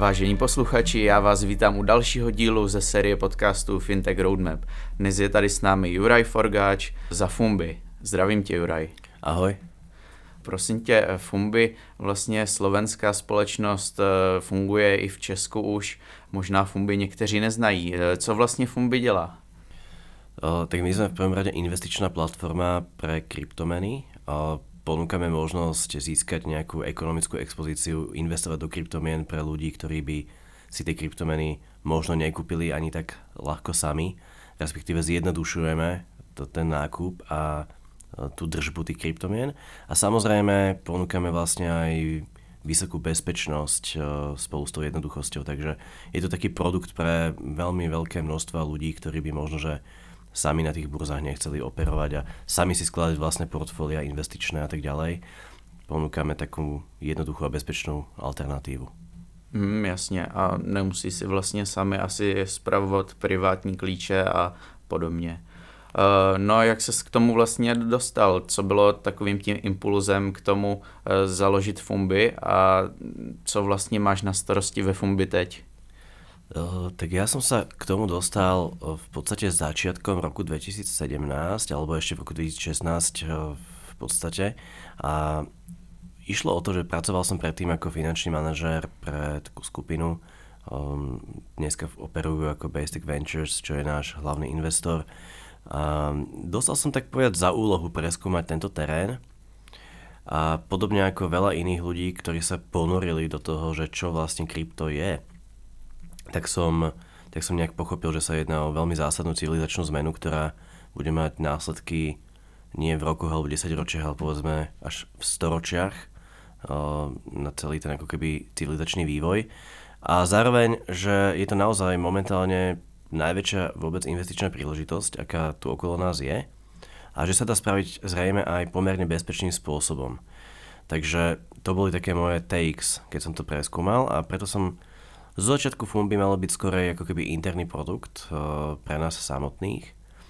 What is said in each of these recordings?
Vážení posluchači, já vás vítám u dalšího dílu ze série podcastů Fintech Roadmap. Dnes je tady s námi Juraj Forgáč za Fumbi. Zdravím tě, Juraj. Ahoj. Prosím tě, Fumbi, vlastně slovenská společnost, funguje i v Česku už. Možná Fumbi někteří neznají. Co vlastně Fumbi dělá? Tak my sme v prvom rade investičná platforma pre kryptomeny. Ponúkame možnosť získať nejakú ekonomickú expozíciu, investovať do kryptomien pre ľudí, ktorí by si tie kryptomeny možno nekúpili ani tak ľahko sami. Respektíve zjednodušujeme ten nákup a tú držbu tých kryptomien. A samozrejme ponúkame vlastne aj vysokú bezpečnosť spolu s tou jednoduchosťou. Takže je to taký produkt pre veľmi veľké množstva ľudí, ktorí by možno, že sami na tých burzách nechceli operovať a sami si skladať vlastné portfólia investičné a tak ďalej. Ponúkame takú jednoduchú a bezpečnú alternatívu. Jasně, a nemusí si vlastně sami asi spravovat privátní klíče a podobně. No a jak ses k tomu vlastně dostal? Co bylo takovým tím impulzem k tomu založit Fumbi a co vlastně máš na starosti ve Fumbi teď? Tak ja som sa k tomu dostal v podstate začiatkom roku 2017 alebo ešte v roku 2016 v podstate a išlo o to, že pracoval som predtým ako finančný manažér pre takú skupinu. Dneska operujú ako Basic Ventures, čo je náš hlavný investor. A dostal som tak povedať za úlohu preskúmať tento terén a podobne ako veľa iných ľudí, ktorí sa ponorili do toho, že čo vlastne krypto je, tak som nejak pochopil, že sa jedná o veľmi zásadnú civilizačnú zmenu, ktorá bude mať následky nie v rokoch alebo 10 ročiach, ale povedzme až v storočiach na celý ten ako keby civilizačný vývoj. A zároveň, že je to naozaj momentálne najväčšia vôbec investičná príležitosť, aká tu okolo nás je a že sa dá spraviť zrejme aj pomerne bezpečným spôsobom. Takže to boli také moje takes, keď som to preskúmal a preto som z začiatku Fumbi malo byť skorej ako keby interný produkt pre nás samotných,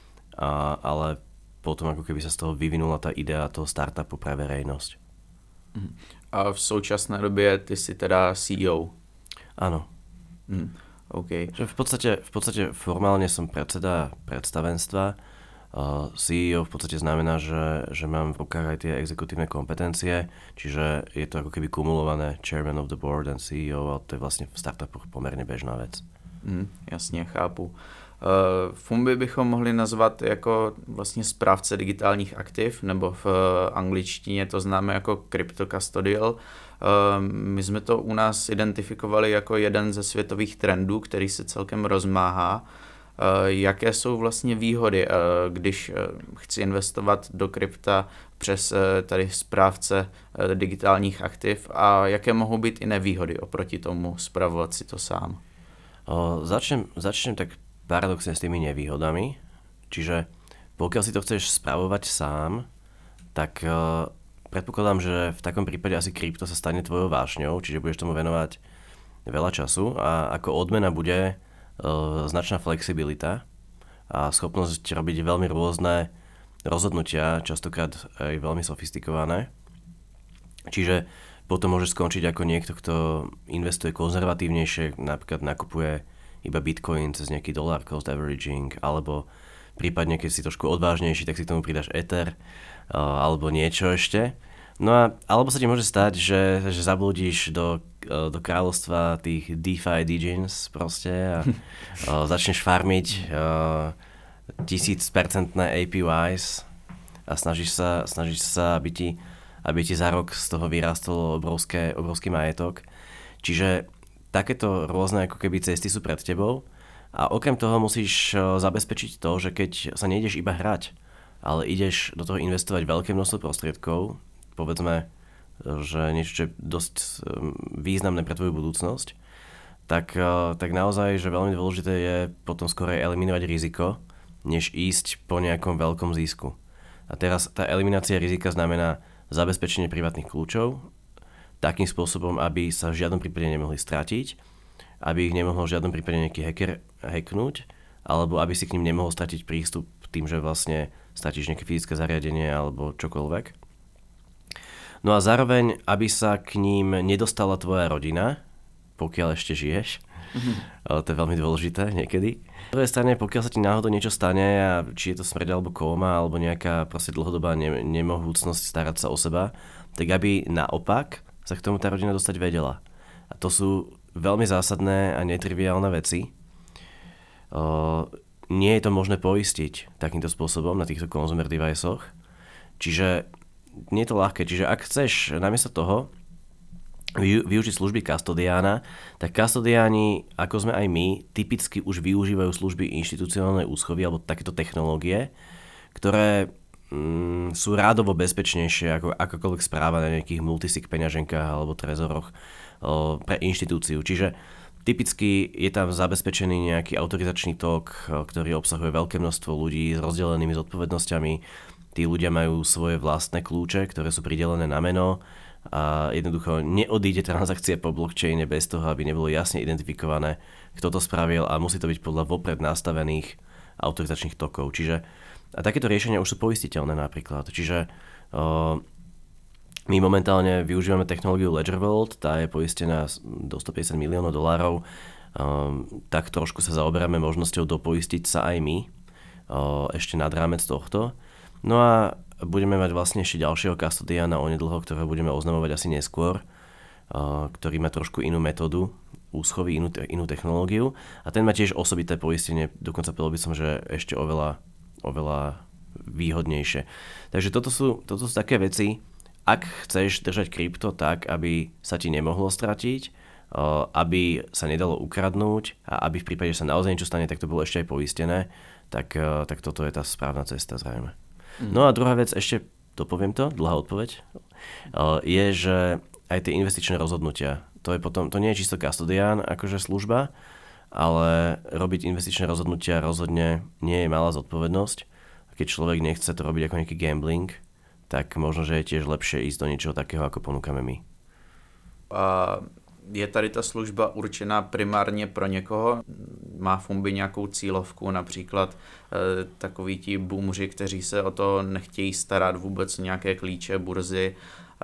ale potom ako keby sa z toho vyvinula tá idea toho startupu pre verejnosť. A v současné době ty si teda CEO? Áno. Okay. Že v podstate formálne som predseda predstavenstva. CEO v podstate znamená, že mám v rukách aj tie exekutívne kompetencie, čiže je to ako keby kumulované Chairman of the Board and CEO a to je vlastne v startupoch pomerne bežná vec. Jasně, chápu. Fumbi bychom mohli nazvat jako vlastně správce digitálních aktiv, nebo v angličtině to známe jako crypto custodial. My jsme to u nás identifikovali jako jeden ze světových trendů, který se celkem rozmáhá. Jaké jsou vlastně výhody, když chci investovat do krypta přes tady správce digitálních aktiv a jaké mohou být i nevýhody oproti tomu spravovat si to sám? Začnem tak paradoxne s tými nevýhodami. Čiže pokiaľ si to chceš spravovať sám, tak predpokladám, že v takom prípade asi krypto sa stane tvojou vášňou, čiže budeš tomu venovať veľa času a ako odmena bude značná flexibilita a schopnosť robiť veľmi rôzne rozhodnutia, častokrát aj veľmi sofistikované. Čiže potom môžeš skončiť ako niekto, kto investuje konzervatívnejšie, napríklad nakupuje iba Bitcoin cez nejaký dollar cost averaging, alebo prípadne keď si trošku odvážnejší, tak si k tomu pridáš Ether alebo niečo ešte. No a alebo sa ti môže stať, že zablúdiš do kráľovstva tých DeFi degens proste a začneš farmiť 1000% APYs a snažíš sa aby ti za rok z toho vyrástol obrovský majetok. Čiže takéto rôzne ako keby cesty sú pred tebou a okrem toho musíš zabezpečiť to, že keď sa nejdeš iba hrať, ale ideš do toho investovať veľké množstvo prostriedkov, povedzme, že niečo, čo je dosť významné pre tvoju budúcnosť, tak naozaj, že veľmi dôležité je potom skorej eliminovať riziko, než ísť po nejakom veľkom zisku. A teraz tá eliminácia rizika znamená zabezpečenie privátnych kľúčov, takým spôsobom, aby sa v žiadnom prípade nemohli stratiť, aby ich nemohol v žiadnom prípade nejaký hacker hacknúť, alebo aby si k ním nemohol stratiť prístup tým, že vlastne stratíš nejaké fyzické zariadenie alebo čokoľvek. No a zároveň, aby sa k ním nedostala tvoja rodina, pokiaľ ešte žiješ. To je veľmi dôležité niekedy. Na druhej strane, pokiaľ sa ti náhodou niečo stane, a či je to smrť alebo kóma, alebo nejaká proste dlhodobá nemohúcnosť starať sa o seba, tak aby naopak sa k tomu tá rodina dostať vedela. A to sú veľmi zásadné a netriviálne veci. Nie je to možné poistiť takýmto spôsobom na týchto consumer deviceoch. Čiže nie je to ľahké. Čiže ak chceš namiesto toho využiť služby kastodiána, tak kastodiáni, ako sme aj my, typicky už využívajú služby inštitucionálnej úschovy alebo takéto technológie, ktoré sú rádovo bezpečnejšie ako akákoľvek správa na nejakých multisig peňaženkách alebo trezoroch pre inštitúciu. Čiže typicky je tam zabezpečený nejaký autorizačný tok, ktorý obsahuje veľké množstvo ľudí s rozdelenými zodpovednosťami. Tí ľudia majú svoje vlastné kľúče, ktoré sú pridelené na meno, a jednoducho neodíde transakcia po blockchaine bez toho, aby nebolo jasne identifikované, kto to spravil, a musí to byť podľa vopred nastavených autorizačných tokov. Čiže a takéto riešenia už sú poistiteľné napríklad. Čiže my momentálne využívame technológiu Ledger Vault, tá je poistená do $150 miliónov. Tak trošku sa zaoberáme možnosťou dopoistiť sa aj my ešte nad rámec tohto. No a budeme mať vlastne ešte ďalšieho kastodiána onedlho, ktorého budeme oznamovať asi neskôr, ktorý má trošku inú metódu úschovy, inú technológiu, a ten má tiež osobité poistenie, dokonca povedal by som, že ešte oveľa výhodnejšie. Takže toto sú také veci, ak chceš držať krypto tak, aby sa ti nemohlo stratiť, aby sa nedalo ukradnúť a aby v prípade, že sa naozaj niečo stane, tak to bolo ešte aj poistené, tak toto je tá správna cesta zrejme. No a druhá vec, ešte dopoviem to, dlhá odpoveď, je, že aj tie investičné rozhodnutia, to nie je čisto kastodián akože služba, ale robiť investičné rozhodnutia rozhodne nie je malá zodpovednosť. Keď človek nechce to robiť ako nejaký gambling, tak možno, že je tiež lepšie ísť do niečoho takého, ako ponúkame my. Je tady ta služba určená primárně pro někoho? Má Fumbi nějakou cílovku, například takoví ti boomři, kteří se o to nechtějí starat vůbec, nějaké klíče, burzy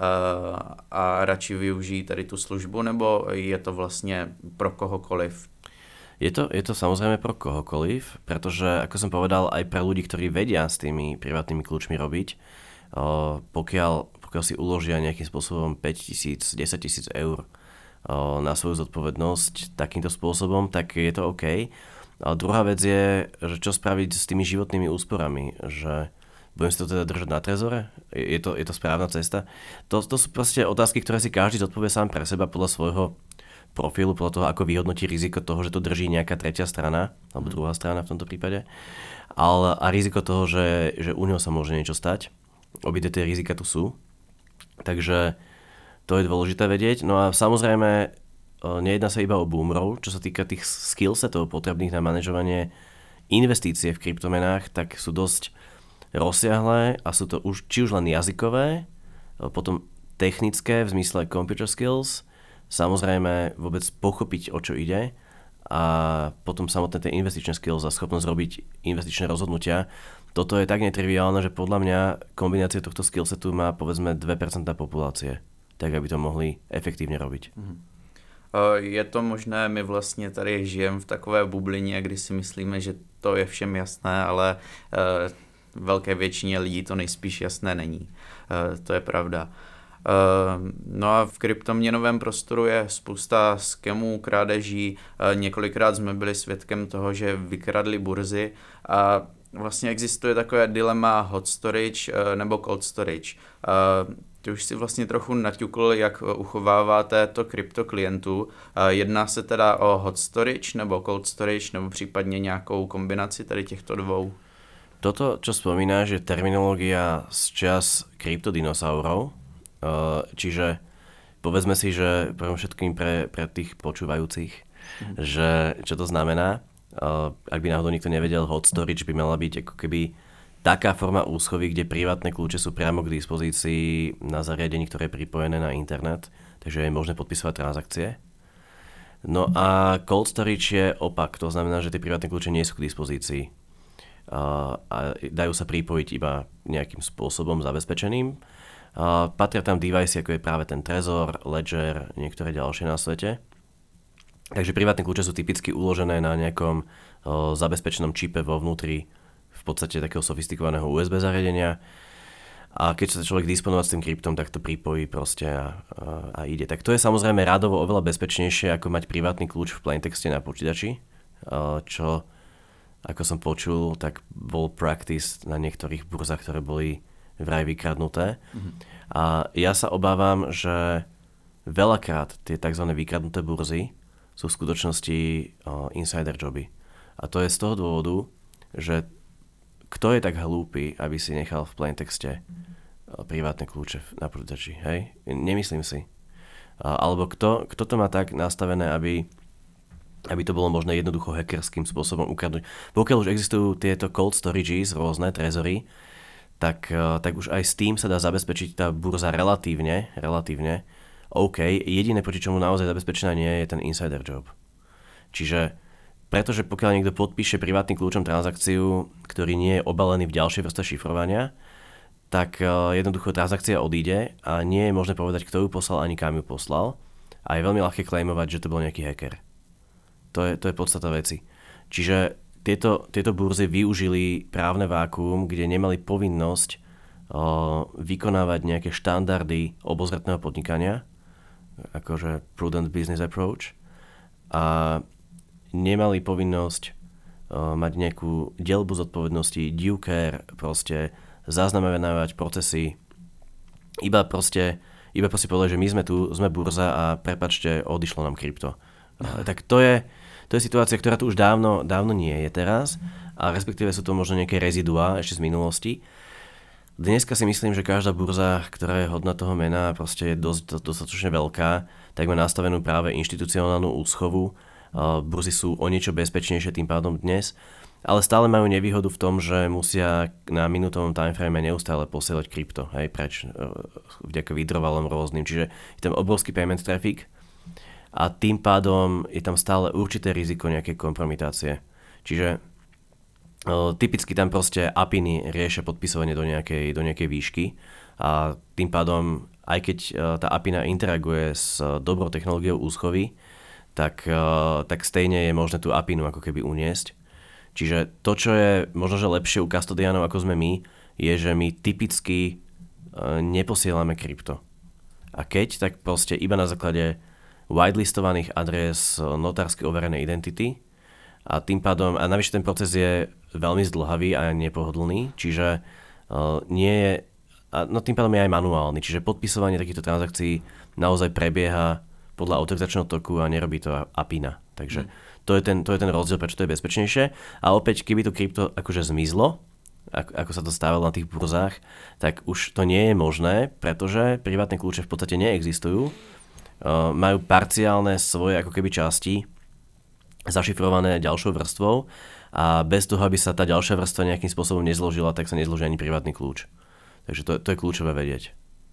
a radši využijí tady tu službu, nebo je to vlastně pro kohokoliv? Je to samozrejme pro kohokoliv, pretože, ako som povedal, aj pre ľudí, ktorí vedia s tými privátnymi kľúčmi robiť, pokiaľ si uložia nejakým spôsobom 5 000, 10 000 eur na svoju zodpovednosť takýmto spôsobom, tak je to OK. Ale druhá vec je, že čo spraviť s tými životnými úsporami, že budem si to teda držať na trezore? Je to správna cesta? To sú proste otázky, ktoré si každý zodpovie sám pre seba podľa svojho profilu, podľa toho, ako vyhodnotí riziko toho, že to drží nejaká tretia strana, alebo druhá strana v tomto prípade, a riziko toho, že u neho sa môže niečo stať. Obidve tie rizika tu sú. Takže to je dôležité vedieť. No a samozrejme, nejedná sa iba o boomerov, čo sa týka tých skillsetov potrebných na manažovanie investície v kryptomenách, tak sú dosť rozsiahlé a sú to či už len jazykové, potom technické v zmysle computer skills, samozrejme vôbec pochopiť, o čo ide, a potom samotné tie investičné skills a schopnosť robiť investičné rozhodnutia. Toto je tak netriviálne, že podľa mňa kombinácia tohto skillsetu má povedzme 2% populácie, tak aby to mohli efektívne robiť. Je to možné, my vlastně tady žijeme v takové bublině, kdy si myslíme, že to je všem jasné, ale velké většině lidí to nejspíš jasné není. To je pravda. No a v kryptoměnovém prostoru je spousta skemů, krádeží. Několikrát jsme byli svědkem toho, že vykradli burzy a vlastně existuje takové dilema hot storage nebo cold storage. Ty už si vlastně trochu naťukl, jak uchováváte to krypto klientů. Jedná se teda o hot storage nebo cold storage nebo případně nějakou kombinaci tady těchto dvou? Toto, čo spomínáš, je terminológia z čas kryptodinosaurov. Čiže povedzme si, že všetkým pre tých počúvajúcich, že čo to znamená. Ak by náhodou nikto nevedel, hot storage by mala byť ako keby taká forma úschovy, kde privátne kľúče sú priamo k dispozícii na zariadení, ktoré je pripojené na internet, takže je možné podpisovať transakcie. No a cold storage je opak, to znamená, že tie privátne kľúče nie sú k dispozícii a dajú sa pripojiť iba nejakým spôsobom zabezpečeným. Patria tam device, ako je práve ten Trezor, Ledger, niektoré ďalšie na svete. Takže privátne kľúče sú typicky uložené na nejakom zabezpečenom čipe vo vnútri v podstate takého sofistikovaného USB zariadenia. A keď sa človek disponovať s tým kryptom, tak to pripojí proste a ide. Tak to je samozrejme rádovo oveľa bezpečnejšie, ako mať privátny kľúč v plaintexte na počítači, čo, ako som počul, tak bol practice na niektorých burzách, ktoré boli vraj vykradnuté. A ja sa obávam, že veľakrát tie tzv. Vykradnuté burzy sú v skutočnosti insider joby. A to je z toho dôvodu, že kto je tak hlúpy, aby si nechal v plaintexte privátne kľúče na počítači, hej? Nemyslím si. Alebo kto to má tak nastavené, aby to bolo možné jednoducho hackerským spôsobom ukradnúť. Pokiaľ už existujú tieto cold storages, rôzne trezory, tak už aj s tým sa dá zabezpečiť tá burza relatívne OK, jediné, proti čomu naozaj zabezpečená nie je ten insider job. Čiže, pretože pokiaľ niekto podpíše privátnym kľúčom transakciu, ktorý nie je obalený v ďalšej vrstve šifrovania, tak jednoducho transakcia odíde a nie je možné povedať, kto ju poslal ani kam ju poslal. A je veľmi ľahké claimovať, že to bol nejaký hacker. To je podstata veci. Čiže tieto burzy využili právne vákuum, kde nemali povinnosť vykonávať nejaké štandardy obozretného podnikania, akože prudent business approach, a nemali povinnosť mať nejakú dielbu zodpovednosti, due care, proste zaznamenávať procesy, iba povedať, že my sme tu, sme burza a prepáčte, odišlo nám krypto. Tak to je situácia, ktorá tu už dávno nie je teraz, a respektíve sú to možno nejaké reziduá ešte z minulosti. Dneska si myslím, že každá burza, ktorá je hodná toho mena, proste je dostatočne veľká, tak má nastavenú práve inštitucionálnu úschovu. Burzy sú o niečo bezpečnejšie tým pádom dnes, ale stále majú nevýhodu v tom, že musia na minútovom timeframe neustále posielať krypto, hej, preč vďaka withdrawalom rôznym, čiže je tam obrovský payment traffic a tým pádom je tam stále určité riziko nejakej kompromitácie. Čiže typicky tam proste APIny riešia podpisovanie do nejakej výšky a tým pádom, aj keď tá APIna interaguje s dobrou technológiou úschovy, tak stejne je možné tú APInu ako keby uniesť. Čiže to, čo je možno, že lepšie u custodianov ako sme my, je, že my typicky neposielame krypto. A keď, tak proste iba na základe whitelistovaných adres notársky overenej identity. A tým pádom, a navyše ten proces je veľmi zdĺhavý a nepohodlný, čiže nie je, tým pádom je aj manuálny, čiže podpisovanie takýchto transakcií naozaj prebieha podľa autorizačného toku a nerobí to APIna. Takže to je ten rozdiel, prečo to je bezpečnejšie. A opäť, keby to krypto akože zmizlo, ako sa to stávalo na tých burzách, tak už to nie je možné, pretože privátne kľúče v podstate neexistujú. Majú parciálne svoje ako keby časti zašifrované ďalšou vrstvou a bez toho, aby sa tá ďalšia vrstva nejakým spôsobom nezložila, tak sa nezloží ani privátny kľúč. Takže to je kľúčové vedieť.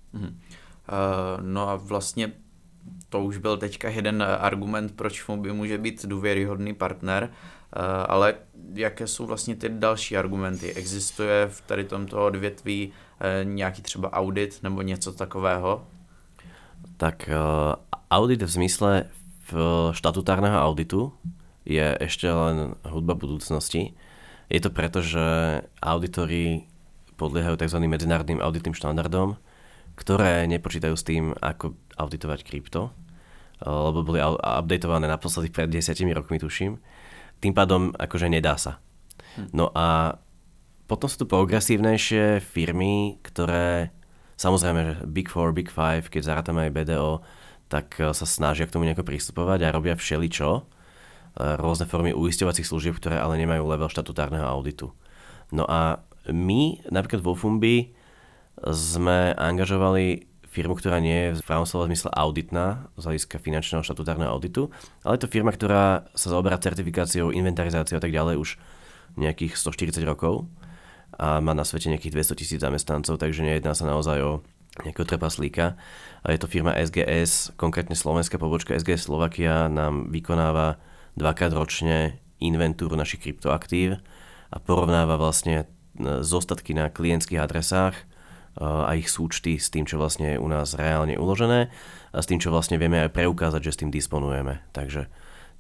No a vlastně to už byl teďka jeden argument, proč Fumbi může být důvěryhodný partner, ale jaké jsou vlastně ty další argumenty? Existuje v tady tomto odvětví nějaký třeba audit nebo něco takového? Tak audit v zmysle štatutárneho auditu je ešte len hudba budúcnosti. Je to preto, že auditori podliehajú tzv. Medzinárodným auditným štandardom, ktoré nepočítajú s tým, ako auditovať krypto, lebo boli updatované naposledy pred 10 rokmi, tuším. Tým pádom akože nedá sa. No a potom sú tu progresívnejšie firmy, ktoré samozrejme, že Big 4, Big 5, keď zarátame aj BDO, tak sa snažia k tomu nejako pristupovať a robia všeličo, rôzne formy uisťovacích služieb, ktoré ale nemajú level štatutárneho auditu. No a my, napríklad vo Fumbi, sme angažovali firmu, ktorá nie je v pravom slova zmysle auditná, z hľadiska finančného štatutárneho auditu, ale je to firma, ktorá sa zaoberá certifikáciou, inventarizáciou a tak ďalej už nejakých 140 rokov a má na svete nejakých 200 000 zamestnancov, takže nejedná sa naozaj o nejakého trpaslíka. A je to firma SGS, konkrétne slovenská pobočka SGS Slovakia nám vykonáva 2-krát ročne inventúru našich kryptoaktív a porovnáva vlastne zostatky na klientských adresách a ich súčty s tým, čo vlastne je u nás reálne uložené a s tým, čo vlastne vieme aj preukázať, že s tým disponujeme. Takže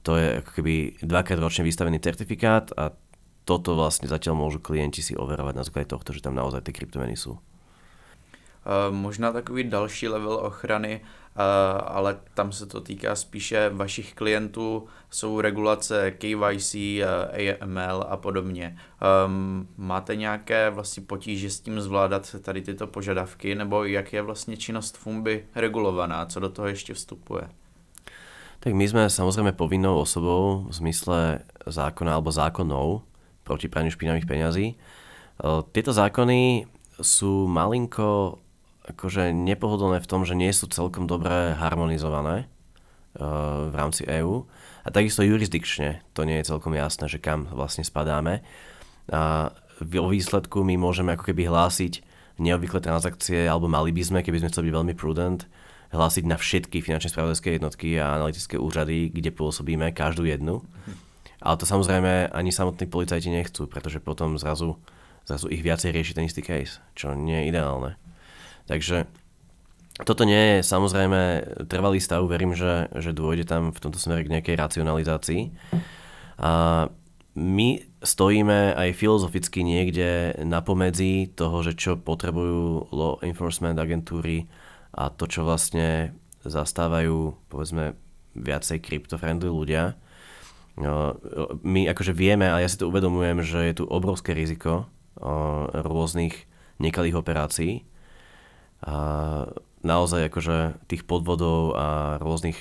to je ako keby 2-krát ročne vystavený certifikát a toto vlastne zatiaľ môžu klienti si overovať na základe tohto, že tam naozaj tie kryptomeny sú. Možná takový další level ochrany, ale tam se to týká spíše vašich klientů, jsou regulace KYC, AML a podobně. Máte nějaké vlastně potíže s tím zvládat tady tyto požadavky, nebo jak je vlastně činnost Fumbi regulovaná, co do toho ještě vstupuje? Tak my sme samozrejme povinnou osobou v zmysle zákona alebo zákonov proti praniu špinavých peňazí. Tieto zákony sú malinko akože nepohodlné v tom, že nie sú celkom dobre harmonizované v rámci EÚ a takisto jurisdikčne to nie je celkom jasné, že kam vlastne spadáme. A vo výsledku my môžeme ako keby hlásiť neobvyklé transakcie, alebo mali by sme, keby sme chceli byť veľmi prudent, hlásiť na všetky finančné spravodajské jednotky a analytické úřady, kde pôsobíme, každú jednu. Ale to samozrejme ani samotní policajti nechcú, pretože potom zrazu ich viacej rieši ten istý case, čo nie je ideálne. Takže toto nie je samozrejme trvalý stav, verím, že dôjde tam v tomto smere k nejakej racionalizácii. A my stojíme aj filozoficky niekde na pomedzi toho, že čo potrebujú law enforcement agentúry a to, čo vlastne zastávajú, povedzme, viacej crypto-friendly ľudia. My akože vieme, a ja si to uvedomujem, že je tu obrovské riziko rôznych nekalých operácií. A naozaj akože tých podvodov a rôznych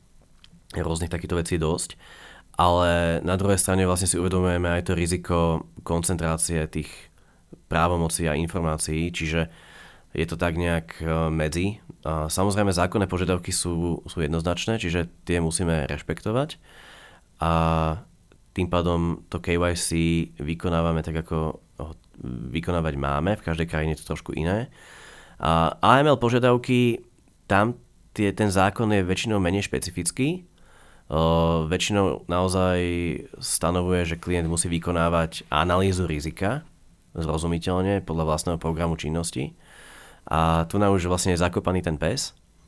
takýchto vecí dosť. Ale na druhej strane vlastne si uvedomujeme aj to riziko koncentrácie tých právomocí a informácií, čiže je to tak nejak medzi. A samozrejme zákonné požiadavky sú jednoznačné, čiže tie musíme rešpektovať. A tým pádom to KYC vykonávame tak, ako ho vykonávať máme. V každej krajine je to trošku iné. A AML požiadavky, tam ten zákon je väčšinou menej špecifický. Väčšinou naozaj stanovuje, že klient musí vykonávať analýzu rizika zrozumiteľne podľa vlastného programu činnosti. A tu nám už vlastne je zakopaný ten pes,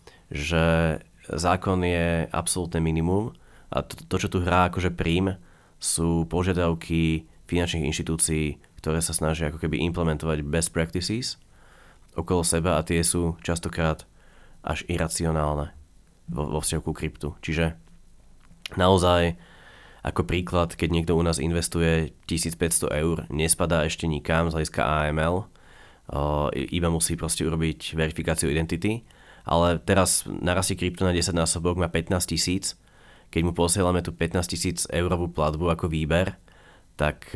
že zákon je absolútne minimum a to čo tu hrá akože prím, sú požiadavky finančných inštitúcií, ktoré sa snažia ako keby implementovať best practices okolo seba a tie sú častokrát až iracionálne vo vzťahu ku kryptu. Čiže naozaj ako príklad, keď niekto u nás investuje 1500 eur, nespadá ešte nikam z hľadiska AML, iba musí proste urobiť verifikáciu identity, ale teraz narastie krypto na 10 násobok, má 15 000, keď mu posielame tú 15 000 eurovú platbu ako výber, tak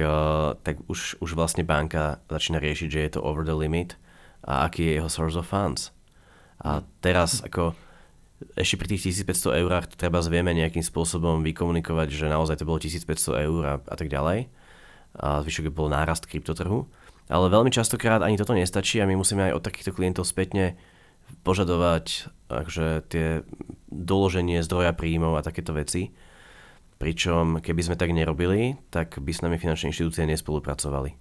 už vlastne banka začína riešiť, že je to over the limit a aký je jeho source of funds. A teraz ako ešte pri tých 1500 eurách treba vieme nejakým spôsobom vykomunikovať, že naozaj to bolo 1500 eur a tak ďalej. A zvyšok bol nárast kryptotrhu. Ale veľmi častokrát ani toto nestačí a my musíme aj od takýchto klientov spätne požadovať akože tie doloženie zdroja príjmov a takéto veci. Pričom keby sme tak nerobili, tak by s nami finančné inštitúcie nespolupracovali.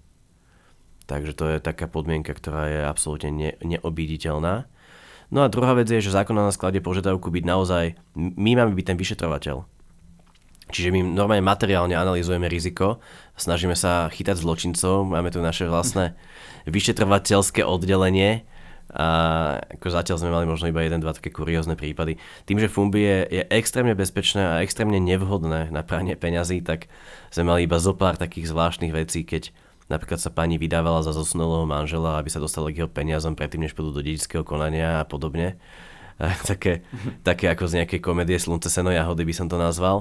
Takže to je taká podmienka, ktorá je absolútne neobíditeľná. No a druhá vec je, že zákon na nás kladie požiadavku byť naozaj, my máme byť ten vyšetrovateľ. Čiže my normálne materiálne analyzujeme riziko, snažíme sa chytať zločincov, máme tu naše vlastné vyšetrovateľské oddelenie a ako zatiaľ sme mali možno iba 1-2 také kuriózne prípady. Tým, že Fumbi je extrémne bezpečné a extrémne nevhodné na pranie peňazí, tak sme mali iba zopár takých zvláštnych vecí, keď napríklad sa pani vydávala za zosnulého manžela, aby sa dostala k jeho peniazom predtým, než pôjdu do dedičského konania a podobne. Také ako z nejakej komédie Slunce, seno, jahody by som to nazval.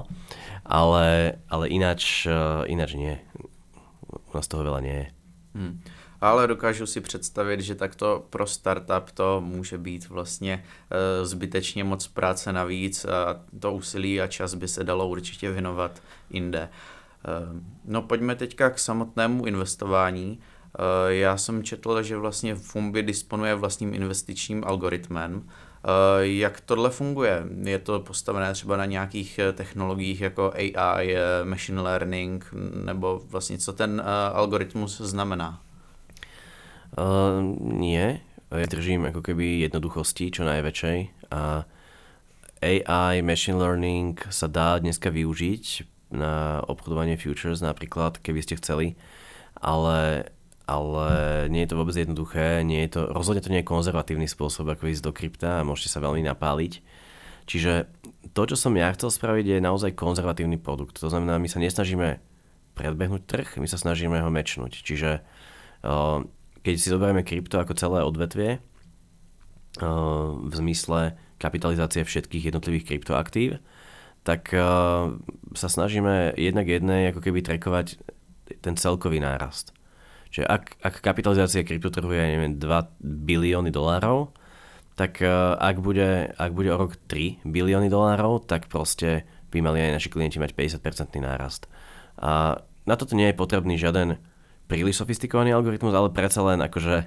Ale ináč nie. U nás toho veľa nie je. Ale dokážu si představit, že takto pro startup to může být vlastně zbytečně moc práce navíc a to úsilí a čas by se dalo určitě věnovat jinde. No pojďme teďka k samotnému investování. Já jsem četl, že vlastně Fumbi disponuje vlastním investičním algoritmem. Jak tohle funguje? Je to postavené třeba na nějakých technologiích jako AI, machine learning, nebo vlastně co ten algoritmus znamená? Nie. Ja držím ako keby jednoduchosti čo najväčšej a AI, machine learning sa dá dneska využiť na obchodovanie futures napríklad, keby ste chceli, ale nie je to vôbec jednoduché, rozhodne to nie je konzervatívny spôsob, ako ísť do krypta a môžete sa veľmi napáliť. Čiže to, čo som ja chcel spraviť, je naozaj konzervatívny produkt. To znamená, my sa nesnažíme predbehnúť trh, my sa snažíme ho mečnúť. Čiže keď si zoberieme krypto ako celé odvetvie, v zmysle kapitalizácie všetkých jednotlivých kryptoaktív, tak sa snažíme jednak jednej ako keby trackovať ten celkový nárast. Čiže ak kapitalizácia kryptotrhu je, neviem, 2 bilióny dolárov, tak ak bude o rok 3 bilióny dolárov, tak proste by mali aj naši klienti mať 50% nárast. A na toto nie je potrebný žiaden príliš sofistikovaný algoritmus, ale predsa len akože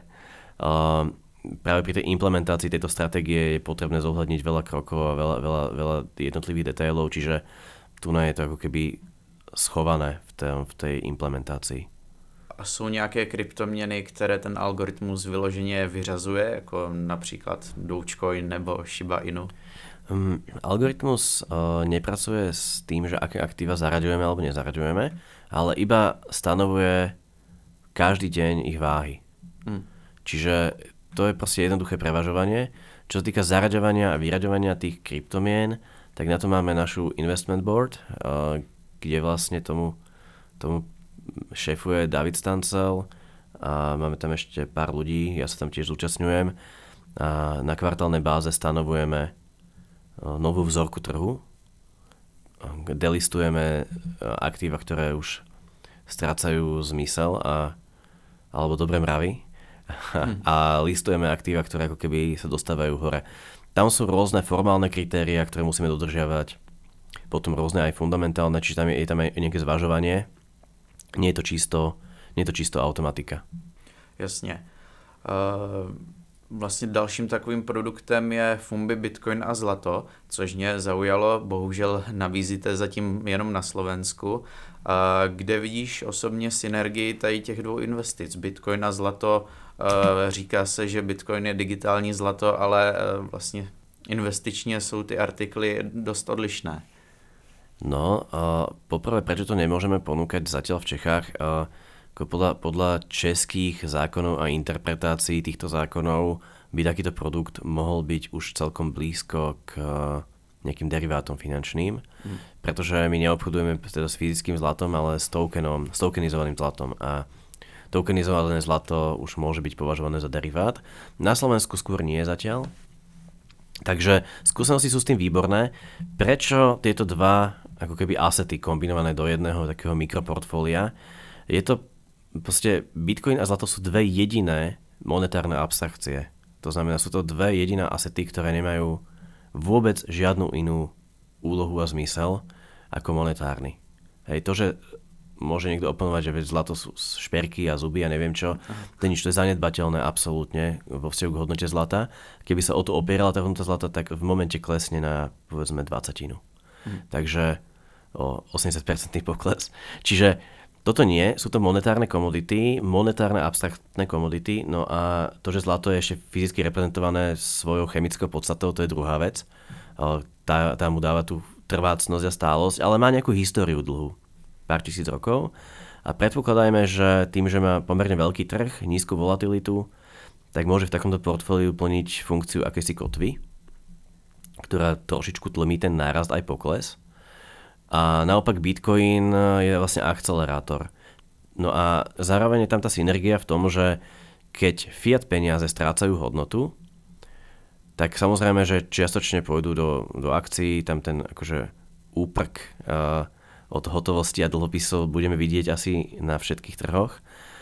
práve pri tej implementácii tejto stratégie je potrebné zohľadniť veľa krokov a veľa jednotlivých detailov, čiže tu je to ako keby schované v tej implementácii. A jsou nějaké kryptoměny, které ten algoritmus vyloženě vyřazuje, jako například Dogecoin nebo Shiba Inu? Algoritmus nepracuje s tým, že aké aktíva zaraďujeme alebo nezaraďujeme, ale iba stanovuje každý deň ich váhy. Čiže to je proste jednoduché prevažovanie. Čo sa týka zaraďovania a vyraďovania tých kryptomien, tak na to máme našu investment board, kde vlastne tomu šéfuje David Stancel a máme tam ešte pár ľudí, ja sa tam tiež zúčastňujem a na kvartálnej báze stanovujeme novú vzorku trhu, delistujeme aktíva, ktoré už strácajú zmysel alebo dobré mravy a listujeme aktíva, ktoré ako keby sa dostávajú hore. Tam sú rôzne formálne kritériá, ktoré musíme dodržiavať, potom rôzne aj fundamentálne, čiže tam je tam aj nejaké zvažovanie. Nie je to čisto automatika. Jasně. Vlastně dalším takovým produktem je Fumbi, Bitcoin a zlato, což mě zaujalo. Bohužel nabízíte zatím jenom na Slovensku. Kde vidíš osobně synergii tady těch dvou investic? Bitcoin a zlato, říká se, že Bitcoin je digitální zlato, ale vlastně investičně jsou ty artikly dost odlišné. No, poprvé, prečo to nemôžeme ponúkať zatiaľ v Čechách? Podľa českých zákonov a interpretácií týchto zákonov by takýto produkt mohol byť už celkom blízko k nejakým derivátom finančným, pretože my neobchodujeme teda s fyzickým zlatom, ale s tokenizovaným zlatom. A tokenizované zlato už môže byť považované za derivát. Na Slovensku skôr nie zatiaľ. Takže skúsenosti sú s tým výborné. Prečo tieto dva ako keby asety kombinované do jedného takého mikroportfólia? Je to proste Bitcoin a zlato sú dve jediné monetárne abstrakcie. To znamená, sú to dve jediné asety, ktoré nemajú vôbec žiadnu inú úlohu a zmysel ako monetárny. Hej, to, že môže niekto oponovať, že zlato sú šperky a zuby a neviem čo, to je zanedbateľné absolútne vo vzťahu k hodnote zlata. Keby sa o to opierala tá hodnota zlata, tak v momente klesne na povedzme 20. Takže o 80% pokles. Čiže toto nie, sú to monetárne komodity, monetárne abstraktné komodity, no a to, že zlato je ešte fyzicky reprezentované svojou chemickou podstatou, to je druhá vec. Tá mu dáva tú trvácnosť a stálosť, ale má nejakú históriu dlhú, pár tisíc rokov. A predpokladajme, že tým, že má pomerne veľký trh, nízku volatilitu, tak môže v takomto portfóliu plniť funkciu akejsi kotvy, ktorá trošičku tlmí ten nárast aj pokles. A naopak Bitcoin je vlastne akcelerátor. No a zároveň je tam tá synergia v tom, že keď fiat peniaze strácajú hodnotu, tak samozrejme, že čiastočne pôjdu do akcií, tam ten akože úprk od hotovosti a dlhopisov budeme vidieť asi na všetkých trhoch,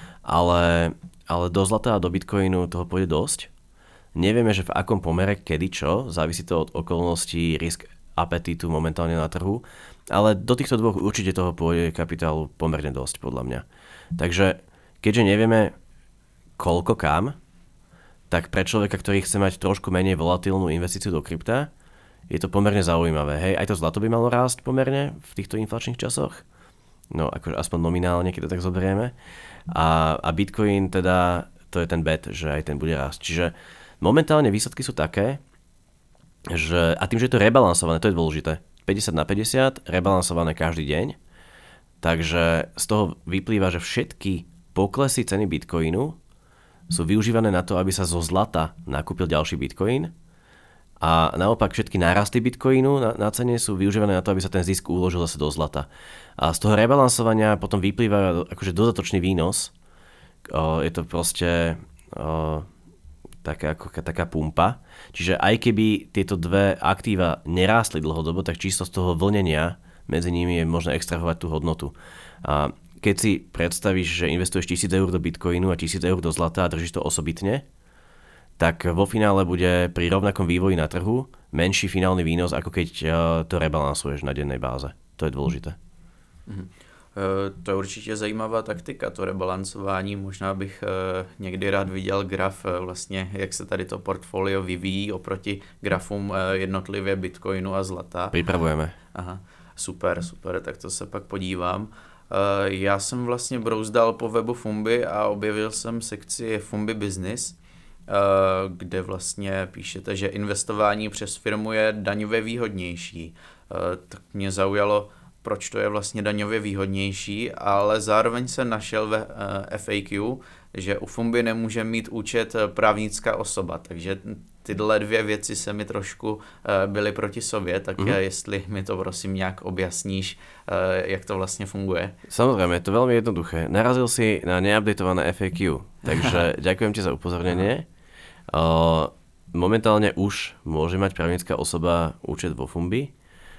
ale do zlata a do Bitcoinu toho pôjde dosť. Nevieme, že v akom pomere, kedy čo, závisí to od okolností, risk apetítu momentálne na trhu, ale do týchto dvoch určite toho pôjde kapitálu pomerne dosť, podľa mňa. Takže keďže nevieme koľko kam, tak pre človeka, ktorý chce mať trošku menej volatilnú investíciu do krypta, je to pomerne zaujímavé. Hej, aj to zlato by malo rásť pomerne v týchto inflačných časoch. No, akože aspoň nominálne, keď to tak zoberieme. A Bitcoin teda, to je ten bet, že aj ten bude rásť. Čiže momentálne výsledky sú také, a tým, že je to rebalansované, to je dôležité. 50/50, rebalansované každý deň. Takže z toho vyplýva, že všetky poklesy ceny Bitcoinu sú využívané na to, aby sa zo zlata nakúpil ďalší Bitcoin. A naopak všetky nárasty Bitcoinu na cene sú využívané na to, aby sa ten zisk uložil zase do zlata. A z toho rebalansovania potom vyplýva akože dodatočný výnos. Je to proste taká pumpa. Čiže aj keby tieto dve aktíva nerástli dlhodobo, tak čisto z toho vlnenia medzi nimi je možné extrahovať tú hodnotu. A keď si predstavíš, že investuješ 1000 eur do Bitcoinu a 1000 eur do zlata a držíš to osobitne, tak vo finále bude pri rovnakom vývoji na trhu menší finálny výnos, ako keď to rebalansuješ na dennej báze. To je dôležité. To je určitě zajímavá taktika, to rebalancování. Možná bych někdy rád viděl graf, vlastně, jak se tady to portfolio vyvíjí oproti grafům jednotlivě Bitcoinu a zlata. Pripravujeme. Aha. Super, tak to se pak podívám. Já jsem vlastně brouzdal po webu Fumbi a objevil jsem sekci Fumbi Business, kde vlastně píšete, že investování přes firmu je daňově výhodnější. Tak mě zaujalo, proč to je vlastně daňově výhodnější, ale zároveň jsem našel ve FAQ, že u Fumbi nemůže mít účet právnická osoba, takže tyhle dvě věci se mi trošku byly proti sobě, tak jestli mi to prosím nějak objasníš, jak to vlastně funguje. Samozrejme, je to veľmi jednoduché. Narazil si na neupdatované FAQ, takže ďakujem ti za upozornenie. Momentálne už môže mať právnická osoba účet vo Fumbi,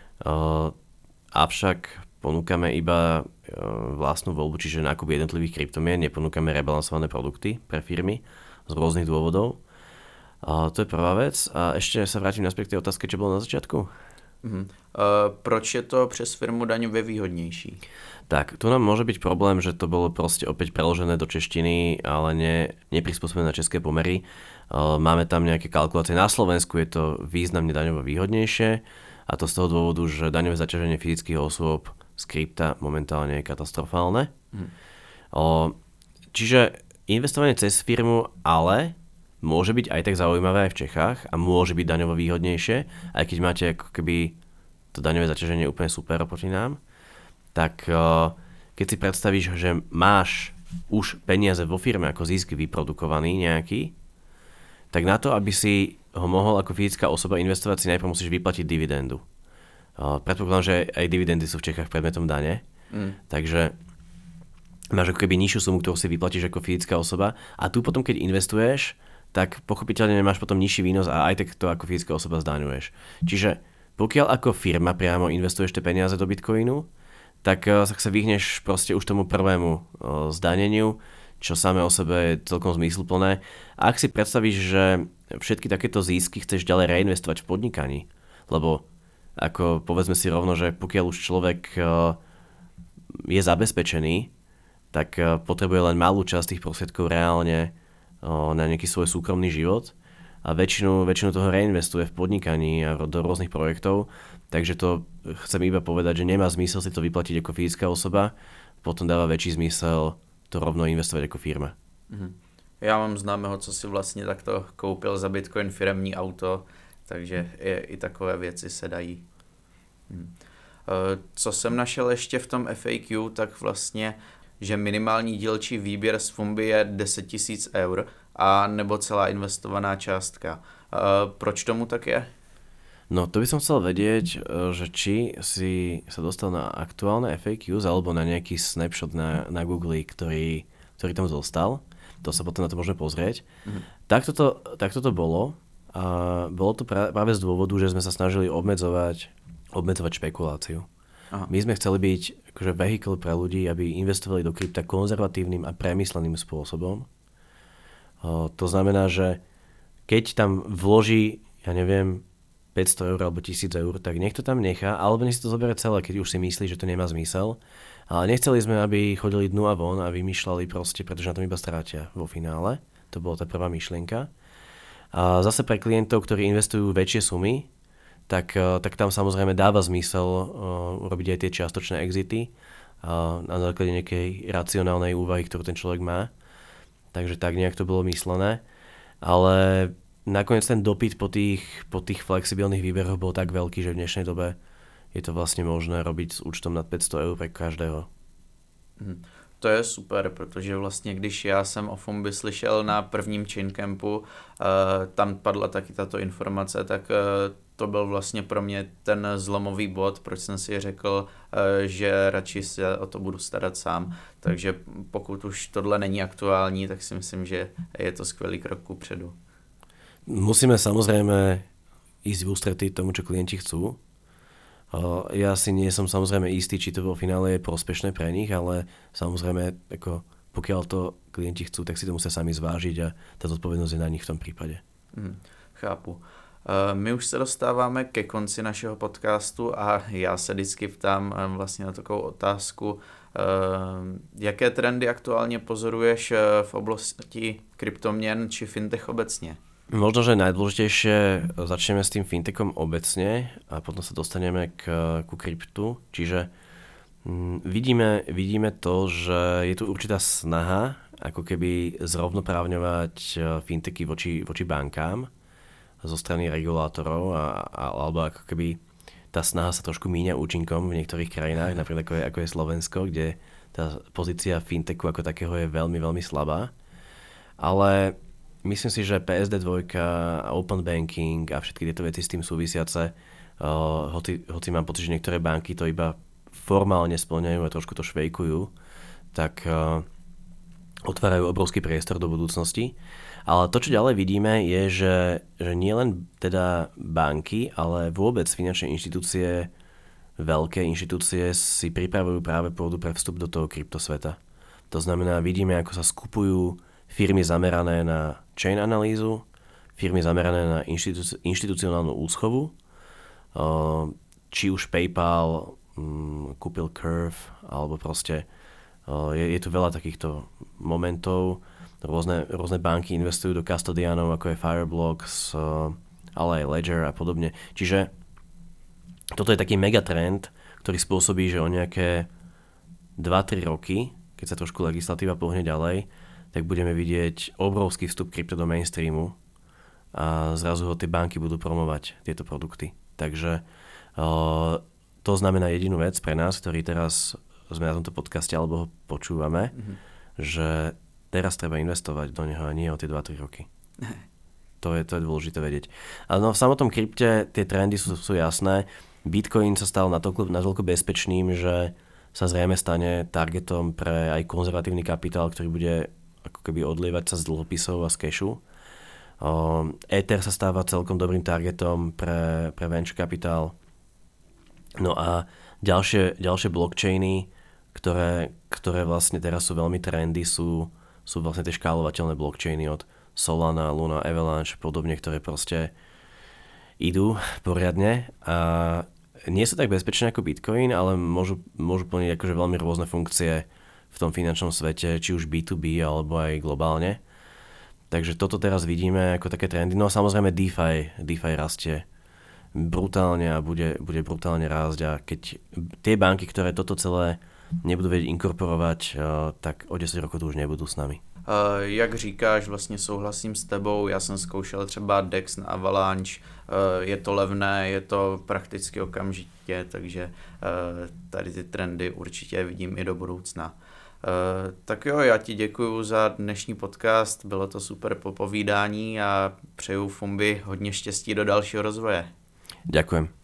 avšak ponúkame iba vlastnú voľbu, čiže nákup jednotlivých kryptomien, neponúkame rebalansované produkty pre firmy z rôznych dôvodov. To je prvá vec. A ešte sa vrátim naspäť k tej otázke, čo bolo na začiatku. Proč je to přes firmu daňově výhodnější? Tak, tu nám môže byť problém, že to bolo proste opäť preložené do češtiny, ale neprispôsobené na české pomery. Máme tam nejaké kalkulácie. Na Slovensku je to významne daňovo výhodnejšie a to z toho dôvodu, že daňové zaťaženie fyzických osôb z krypta momentálne je katastrofálne. Čiže investovanie cez firmu ale môže byť aj tak zaujímavé aj v Čechách a môže byť daňovo výhodnejšie, aj keď máte ako keby to daňové zaťaženie úplne super oproti nám, tak keď si predstavíš, že máš už peniaze vo firme ako zisk vyprodukovaný nejaký, tak na to, aby si ho mohol ako fyzická osoba investovať, si najprv musíš vyplatiť dividendu. Predpokladám, že aj dividendy sú v Čechách predmetom dane, takže máš ako keby nižšiu sumu, ktorú si vyplatíš ako fyzická osoba a tu potom, keď investuješ, tak pochopiteľne nemáš potom nižší výnos a aj tak to ako fyzická osoba zdaňuješ. Čiže pokiaľ ako firma priamo investuješ tie peniaze do Bitcoinu, tak sa vyhneš proste už tomu prvému zdaneniu, čo samé o sebe je celkom zmysluplné. A ak si predstavíš, že všetky takéto zisky chceš ďalej reinvestovať v podnikaní, lebo ako povedzme si rovno, že pokiaľ už človek je zabezpečený, tak potrebuje len malú časť tých prostriedkov reálne na nejaký svoj súkromný život a väčšinu toho reinvestuje v podnikaní a do rôznych projektov, takže to chcem iba povedať, že nemá zmysel si to vyplatiť ako fyzická osoba, potom dáva väčší zmysel to rovno investovať ako firma. Já mám známého, co si vlastně takto koupil za Bitcoin firemní auto, takže i takové věci se dají. Co jsem našel ještě v tom FAQ, tak vlastně že minimální dílčí výběr z Fumbi je 10 000 eur a nebo celá investovaná částka. Proč tomu tak je? No to by som chcel vedieť, že či si sa dostal na aktuálne FAQs alebo na nejaký snapshot na Google, ktorý tam zostal. To sa potom na to môžeme pozrieť. Takto to bolo. A bolo to práve z dôvodu, že sme sa snažili obmedzovať špekuláciu. Aha. My sme chceli byť akože vehicle pre ľudí, aby investovali do krypta konzervatívnym a premysleným spôsobom. To znamená, že keď tam vloží, ja neviem, 500 eur alebo 1000 eur, tak nech to tam nechá, alebo nech si to zoberie celé, keď už si myslí, že to nemá zmysel. Ale nechceli sme, aby chodili dnu a von a vymýšľali proste, pretože na tom iba strátia vo finále. To bola tá prvá myšlienka. A zase pre klientov, ktorí investujú väčšie sumy, tak tam samozrejme dáva zmysel urobiť aj tie čiastočné exity na základe nejakej racionálnej úvahy, ktorú ten človek má. Takže tak nejak to bolo myslené. Ale nakoniec ten dopyt po tých flexibilných výberoch bol tak veľký, že v dnešnej dobe je to vlastne možné robiť s účtom nad 500 eur pre každého. To je super, protože vlastně když já jsem o Fumbi slyšel na prvním Chaincampu, tam padla taky tato informace, tak to byl vlastně pro mě ten zlomový bod, proč jsem si řekl, že radši se o to budu starat sám. Takže pokud už tohle není aktuální, tak si myslím, že je to skvělý krok kupředu. Musíme samozrejme ísť v ústretí tomu, čo klienti chcú. Ja si nie som samozrejme istý, či to vo finále je prospešné pre nich, ale samozrejme, ako pokiaľ to klienti chcú, tak si to musia sami zvážiť a tá zodpovednosť je na nich v tom prípade. Chápu. My už se dostáváme ke konci našeho podcastu a já se vždycky ptám vlastně na takovou otázku, jaké trendy aktuálně pozoruješ v oblasti kryptoměn či fintech obecně? Možno, že najdôležitejšie začneme s tým fintechom obecne a potom sa dostaneme ku kryptu. Čiže vidíme to, že je tu určitá snaha ako keby zrovnoprávňovať fintechy voči bankám zo strany regulátorov alebo ako keby tá snaha sa trošku míňa účinkom v niektorých krajinách, napríklad ako je Slovensko, kde tá pozícia fintechu ako takého je veľmi, veľmi slabá. Ale myslím si, že PSD2 a Open Banking a všetky tieto veci s tým súvisiace, hoci mám pocit, že niektoré banky to iba formálne spĺňajú a trošku to švejkujú, tak otvárajú obrovský priestor do budúcnosti. Ale to, čo ďalej vidíme, je, že nie len teda banky, ale vôbec finančné inštitúcie, veľké inštitúcie si pripravujú práve pôdu pre vstup do toho kryptosveta. To znamená, vidíme, ako sa skupujú firmy zamerané na chain analýzu, firmy zamerané na inštitucionálnu úschovu, či už PayPal kúpil Curve, alebo proste je tu veľa takýchto momentov. Rôzne banky investujú do custodianov, ako je Fireblocks, ale aj Ledger a podobne. Čiže toto je taký megatrend, ktorý spôsobí, že o nejaké 2-3 roky, keď sa trošku legislatíva pohne ďalej, tak budeme vidieť obrovský vstup krypto do mainstreamu a zrazu ho tie banky budú promovať, tieto produkty. Takže to znamená jedinú vec pre nás, ktorí teraz sme na tomto podcaste alebo ho počúvame, že teraz treba investovať do neho a nie o tie 2-3 roky. To je dôležité vedieť. Ale v samotnom krypte tie trendy sú jasné. Bitcoin sa stal natoľko bezpečným, že sa zrejme stane targetom pre aj konzervatívny kapitál, ktorý bude ako keby odlievať sa z dlhopisov a z cashu. Ether sa stáva celkom dobrým targetom pre venture kapitál. No a ďalšie blockchainy, ktoré vlastne teraz sú veľmi trendy, sú vlastne tie škálovateľné blockchainy od Solana, Luna, Avalanche podobne, ktoré proste idú poriadne a nie sú tak bezpečné ako Bitcoin, ale môžu plniť akože veľmi rôzne funkcie v tom finančnom svete, či už B2B alebo aj globálne. Takže toto teraz vidíme ako také trendy. No a samozrejme DeFi rastie brutálne a bude brutálne rásť a keď tie banky, ktoré toto celé nebudú vedieť inkorporovať, tak o 10 rokov tu už nebudú s nami. Jak říkáš, vlastně souhlasím s tebou, já jsem zkoušel třeba DEX na Avalanche, je to levné, je to prakticky okamžitě, takže tady ty trendy určitě vidím i do budoucna. Tak jo, já ti děkuju za dnešní podcast, bylo to super popovídání a přeju Fumbi hodně štěstí do dalšího rozvoje. Ďakujem.